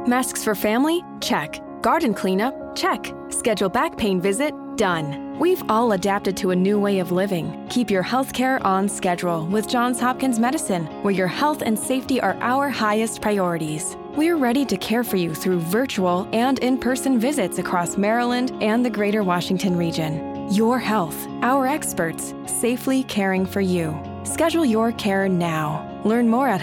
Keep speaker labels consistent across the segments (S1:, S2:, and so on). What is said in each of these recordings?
S1: Masks for family? Check. Garden cleanup? Check. Schedule back pain visit? Done. We've all adapted to a new way of living. Keep your healthcare on schedule with Johns Hopkins Medicine, where your health and safety are our highest priorities. We're ready to care for you through virtual and in-person visits across Maryland and the greater Washington region. Your health, our experts, safely caring for you. Schedule your care now. Learn more at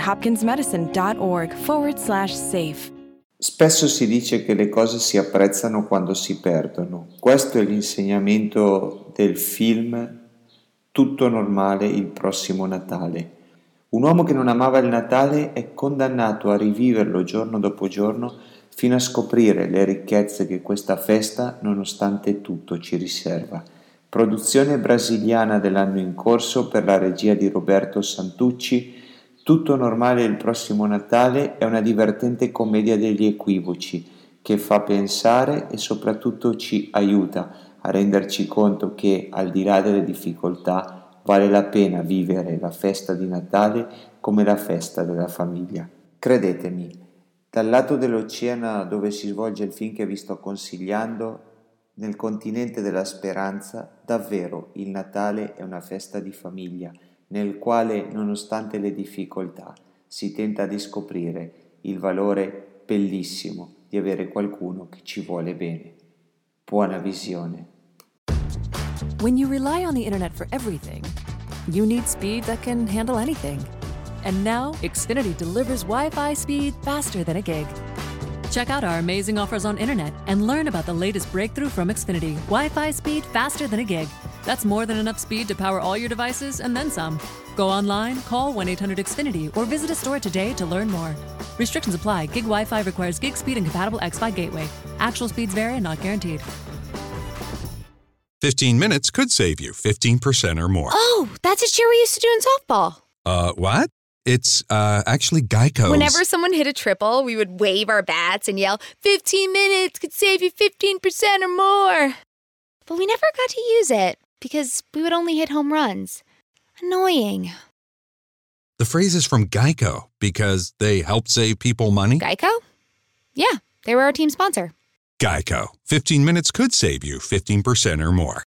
S1: hopkinsmedicine.org/safe.
S2: Spesso si dice che le cose si apprezzano quando si perdono. Questo è l'insegnamento del film Tutto normale il prossimo Natale. Un uomo che non amava il Natale è condannato a riviverlo giorno dopo giorno fino a scoprire le ricchezze che questa festa, nonostante tutto, ci riserva. Produzione brasiliana dell'anno in corso per la regia di Roberto Santucci. Tutto normale il prossimo Natale è una divertente commedia degli equivoci che fa pensare e soprattutto ci aiuta a renderci conto che, al di là delle difficoltà, vale la pena vivere la festa di Natale come la festa della famiglia. Credetemi, dal lato dell'oceano dove si svolge il film che vi sto consigliando, nel continente della speranza, davvero il Natale è una festa di famiglia, nel quale, nonostante le difficoltà, si tenta di scoprire il valore bellissimo di avere qualcuno che ci vuole bene. Buona visione.
S3: When you rely on the internet for everything, you need speed that can handle anything. And now, Xfinity delivers Wi-Fi speed faster than a gig. Check out our amazing offers on internet and learn about the latest breakthrough from Xfinity. Wi-Fi speed faster than a gig. That's more than enough speed to power all your devices and then some. Go online, call 1-800-XFINITY, or visit a store today to learn more. Restrictions apply. Gig Wi-Fi requires gig speed and compatible xFi gateway. Actual speeds vary and not guaranteed.
S4: 15 minutes could save you 15% or more.
S5: Oh, that's a cheer we used to do in softball.
S4: What? It's actually Geico's.
S5: Whenever someone hit a triple, we would wave our bats and yell, 15 minutes could save you 15% or more. But we never got to use it because we would only hit home runs. Annoying.
S4: The phrase is from Geico because they help save people money.
S5: Geico? Yeah, they were our team sponsor.
S4: Geico. 15 minutes could save you 15% or more.